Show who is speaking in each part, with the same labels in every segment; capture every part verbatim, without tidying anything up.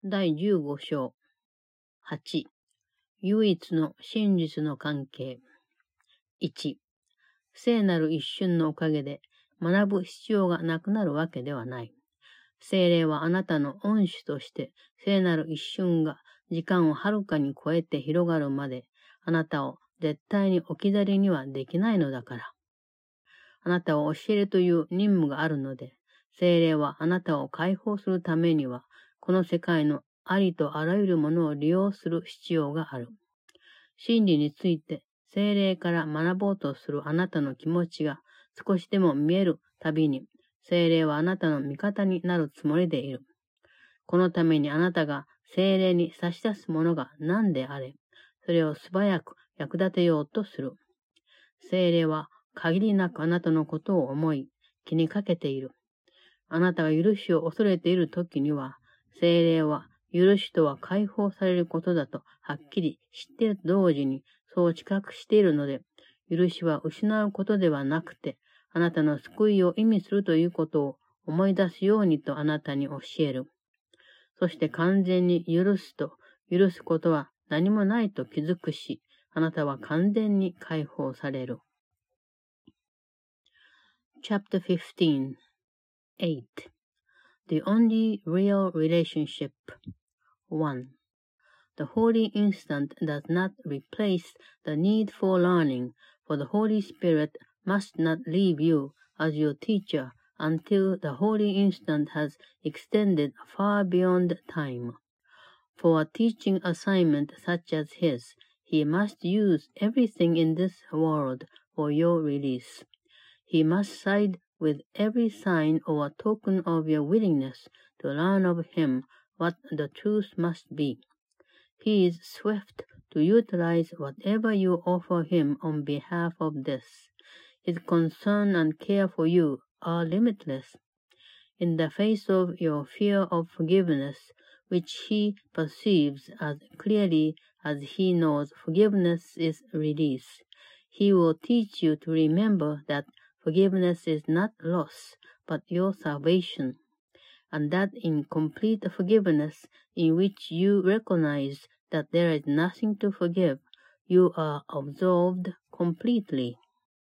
Speaker 1: だいじゅうご章はち、唯一の真実の関係。いち、聖なる一瞬のおかげで学ぶ必要がなくなるわけではない。聖霊はあなたの恩師として聖なる一瞬が時間をはるかに超えて広がるまであなたを絶対に置き去りにはできないのだから。あなたを教えるという任務があるので、聖霊はあなたを解放するためには、この世界のありとあらゆるものを利用する必要がある。真理について聖霊から学ぼうとするあなたの気持ちが少しでも見えるたびに、聖霊はあなたの味方になるつもりでいる。このためにあなたが聖霊に差し出すものが何であれ、それを素早く役立てようとする。聖霊は限りなくあなたのことを思い、気にかけている。あなたが許しを恐れているときには、聖霊は許しとは解放されることだとはっきり知っていると同時にそう知覚しているので、許しは失うことではなくて、あなたの救いを意味するということを思い出すようにとあなたに教える。そして完全に許すと、許すことは何もないと気づくし、あなたは完全に解放される。Chapter fifteen. eight. The only real relationship. one. The holy instant does not replace the need for learning, for the Holy Spirit must not leave you as your teacher until the holy instant has extended far beyond time. For a teaching assignment such as his, he must use everything in this world for your release. He must side with every sign or token of your willingness to learn of him what the truth must be. He is swift to utilize whatever you offer him on behalf of this. His concern and care for you are limitless. In the face of your fear of forgiveness, which he perceives as clearly as he knows forgiveness is release, he will teach you to remember that forgiveness is not loss, but your salvation, and that in complete forgiveness, in which you recognize that there is nothing to forgive, you are absolved completely.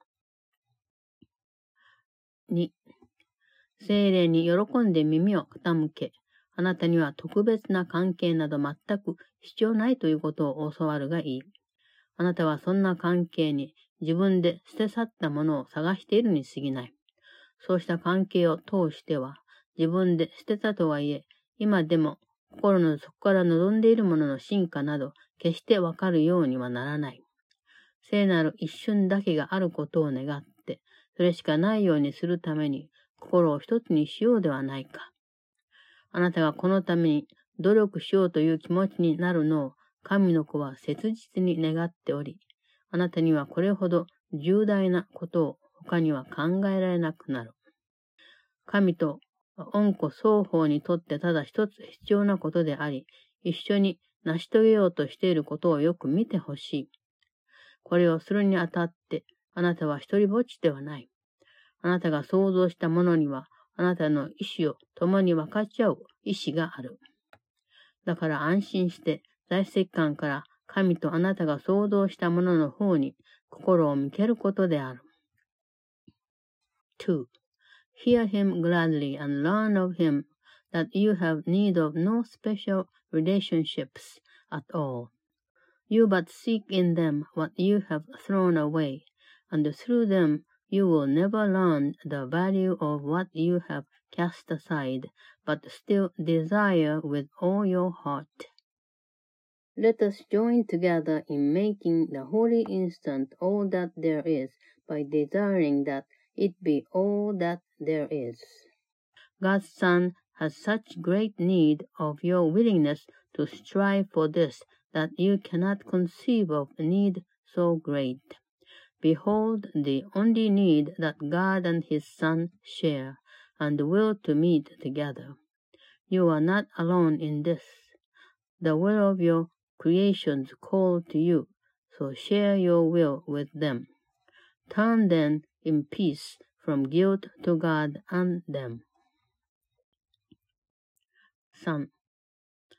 Speaker 1: に. 聖霊に喜んで耳を傾け、あなたには特別な関係など全く必要ないということを教わるがいい。あなたはそんな関係に自分で捨て去ったものを探しているに過ぎない。そうした関係を通しては、自分で捨てたとはいえ、今でも心の底から望んでいるものの進化など、決してわかるようにはならない。聖なる一瞬だけがあることを願って、それしかないようにするために、心を一つにしようではないか。あなたがこのために努力しようという気持ちになるのを、神の子は切実に願っており、あなたにはこれほど重大なことを他には考えられなくなる。神と恩子双方にとってただ一つ必要なことであり、一緒に成し遂げようとしていることをよく見てほしい。これをするにあたって、あなたは一人ぼっちではない。あなたが想像したものには、あなたの意志を共に分かち合う意志がある。だから安心して、在籍感から神とあなたが想像したものの方に心を向けることである。two. Hear him gladly and learn of him that you have need of no special relationships at all. You but seek in them what you have thrown away, and through them you will never learn the value of what you have cast aside, but still desire with all your heart. Let us join together in making the holy instant all that there is by desiring that it be all that there is. God's Son has such great need of your willingness to strive for this that you cannot conceive of a need so great. Behold the only need that God and His Son share and will to meet together. You are not alone in this. The will of your creations call to you, so share your will with them. Turn then in peace from guilt to God and them. さん.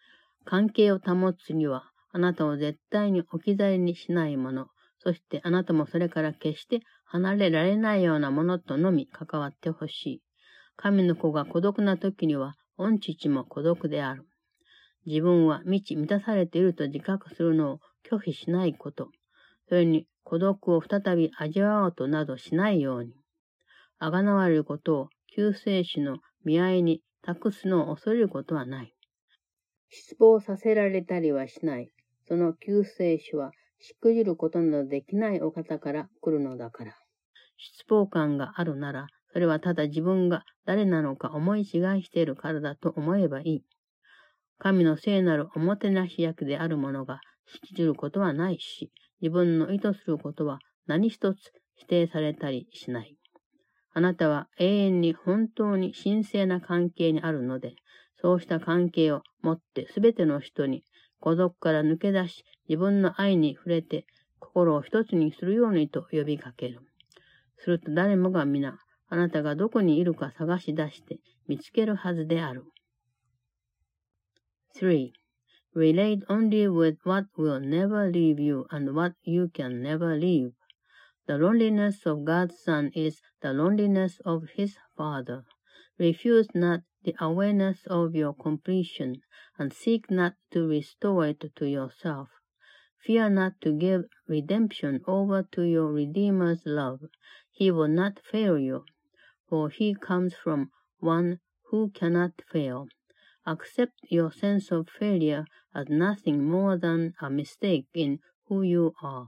Speaker 1: 関係を保つには、あなたを絶対に置き去りにしないもの、そしてあなたもそれから決して離れられないようなものとのみ関わってほしい。神の子が孤独な時には、御父も孤独である。自分は満ち満たされていると自覚するのを拒否しないこと。それに孤独を再び味わおうとなどしないように。あがなわれることを救世主の見合いに託すのを恐れることはない。失望させられたりはしない。その救世主はしくじることなどできないお方から来るのだから。失望感があるなら、それはただ自分が誰なのか思い違いしているからだと思えばいい。神の聖なるおもてなし役であるものがしくじることはないし、自分の意図することは何一つ否定されたりしない。あなたは永遠に本当に神聖な関係にあるので、そうした関係をもってすべての人に孤独から抜け出し、自分の愛に触れて心を一つにするようにと呼びかける。すると誰もが皆、あなたがどこにいるか探し出して見つけるはずである。three. Relate only with what will never leave you and what you can never leave. The loneliness of God's Son is the loneliness of His Father. Refuse not the awareness of your completion, and seek not to restore it to yourself. Fear not to give redemption over to your Redeemer's love. He will not fail you, for He comes from one who cannot fail. Accept your sense of failure as nothing more than a mistake in who you are.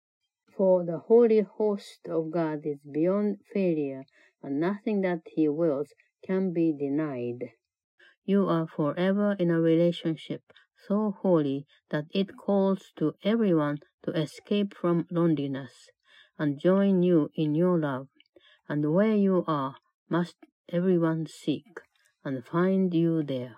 Speaker 1: For the holy host of God is beyond failure, and nothing that He wills can be denied. You are forever in a relationship so holy that it calls to everyone to escape from loneliness and join you in your love. And where you are, must everyone seek and find you there.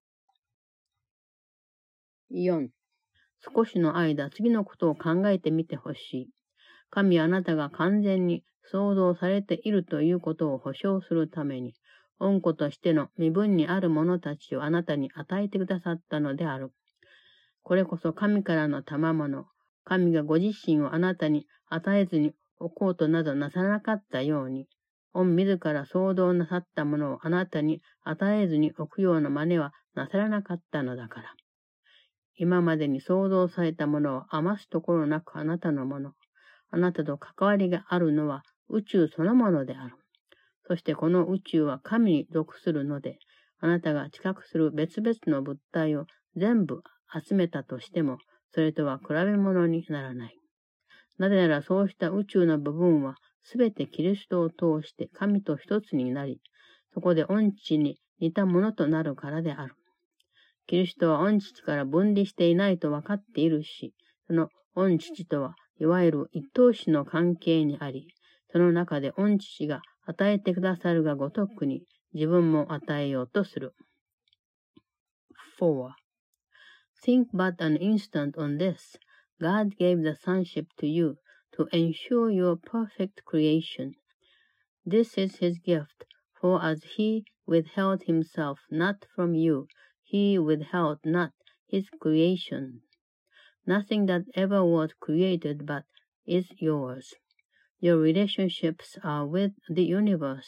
Speaker 1: よん. 少しの間、次のことを考えてみてほしい。神はあなたが完全に創造されているということを保証するために、恩子としての身分にある者たちをあなたに与えてくださったのである。これこそ神からの賜物、神がご自身をあなたに与えずに置こうとなどなさらなかったように、御自ら創造なさったものをあなたに与えずに置くような真似はなさらなかったのだから。今までに創造されたものを余すところなくあなたのもの、あなたと関わりがあるのは宇宙そのものである。そしてこの宇宙は神に属するので、あなたが知覚する別々の物体を全部集めたとしても、それとは比べ物にならない。なぜならそうした宇宙の部分はすべてキリストを通して神と一つになり、そこで御父に似たものとなるからである。キリストは御父から分離していないと分かっているし、その御父とはいわゆる一等子の関係にあり、その中で御父が与えてくださるがごとくに自分も与えようとする。four. Think but an instant on this. God gave the sonship to you to ensure your perfect creation. This is His gift, for as He withheld Himself not from you, He withheld not His creation. Nothing that ever was created but is yours. Your relationships are with the universe.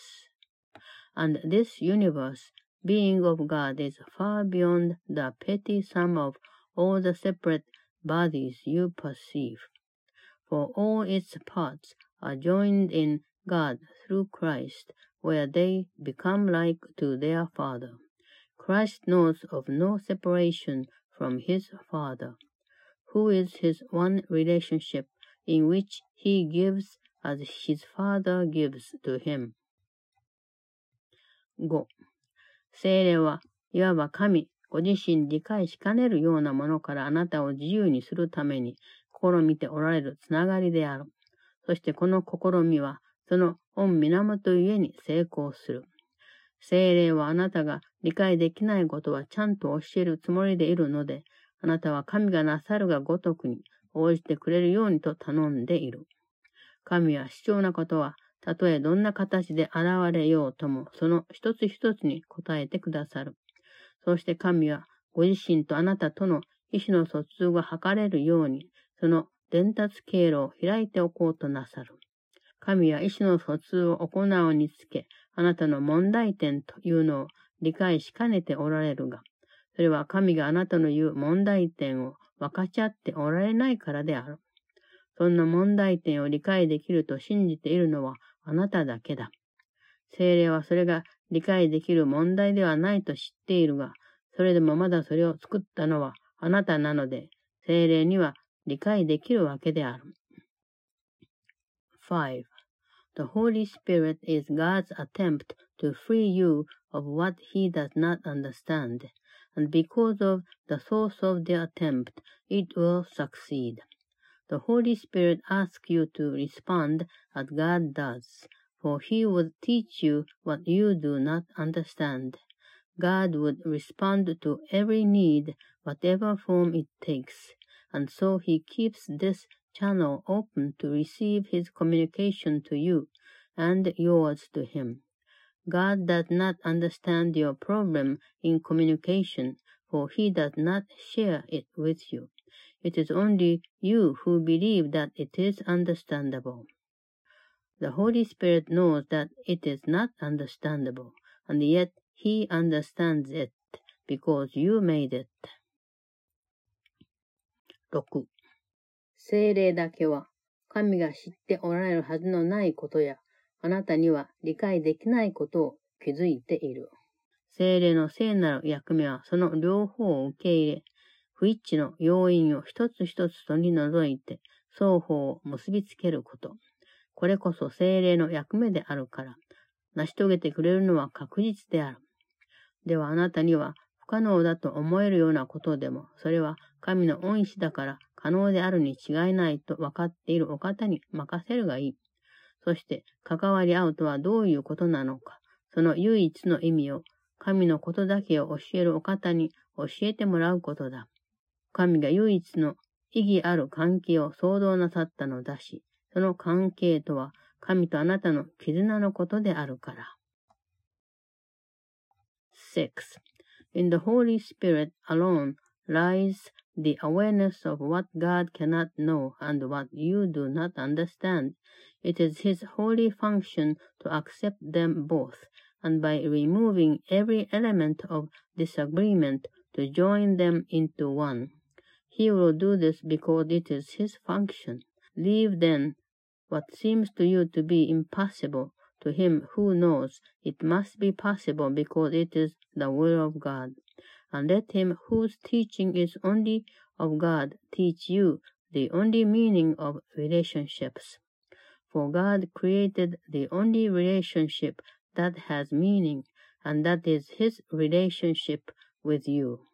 Speaker 1: And this universe, being of God, is far beyond the petty sum of all the separate bodies you perceive. For all its parts are joined in God through Christ, where they become like to their Father. Christ knows of no separation from His Father, who is His one relationship in which He gives as His Father gives to Him. ご. 聖霊はいわば神ご自身理解しかねるようなものからあなたを自由にするために試みておられるつながりである。そしてこの試みはその御源ゆえに成功する。聖霊はあなたが理解できないことはちゃんと教えるつもりでいるので、あなたは神がなさるがごとくに応じてくれるようにと頼んでいる。神は必要なことは、たとえどんな形で現れようとも、その一つ一つに答えてくださる。そして神はご自身とあなたとの意思の疎通が図れるように、その伝達経路を開いておこうとなさる。神は意思の疎通を行うにつけ、あなたの問題点というのを理解しかねておられるが、それは神があなたの言う問題点を分かち合っておられないからである。そんな問題点を理解できると信じているのはあなただけだ。聖霊はそれが理解できる問題ではないと知っているが、それでもまだそれを作ったのはあなたなので、聖霊には理解できるわけである。five. The Holy Spirit is God's attempt to free you of what He does not understand, and because of the source of the attempt, it will succeed. The Holy Spirit asks you to respond as God does, for He would teach you what you do not understand. God would respond to every need, whatever form it takes, and so He keeps this channel open to receive His communication to you and yours to Him. God does not understand your problem in communication, for He does not share it with you. It is only you who believe that it is understandable. The Holy Spirit knows that it is not understandable, and yet He understands it, because you made it. ろく. 聖霊だけは、神が知っておられるはずのないことや、あなたには理解できないことを気づいている。聖霊の聖なる役目は、その両方を受け入れ、不一致の要因を一つ一つ取り除いて、双方を結びつけること。これこそ聖霊の役目であるから、成し遂げてくれるのは確実である。ではあなたには不可能だと思えるようなことでも、それは神の恩師だから可能であるに違いないと分かっているお方に任せるがいい。そして関わり合うとはどういうことなのか、その唯一の意味を、神のことだけを教えるお方に教えてもらうことだ。神が唯一の意義ある関係を創造なさったのだし、その関係とは神とあなたの絆のことであるから。six. In the Holy Spirit alone lies the awareness of what God cannot know and what you do not understand. It is His holy function to accept them both, and by removing every element of disagreement to join them into one. He will do this because it is His function. Leave then what seems to you to be impossible to Him who knows it must be possible because it is the will of God. And let Him whose teaching is only of God teach you the only meaning of relationships. For God created the only relationship that has meaning, and that is His relationship with you.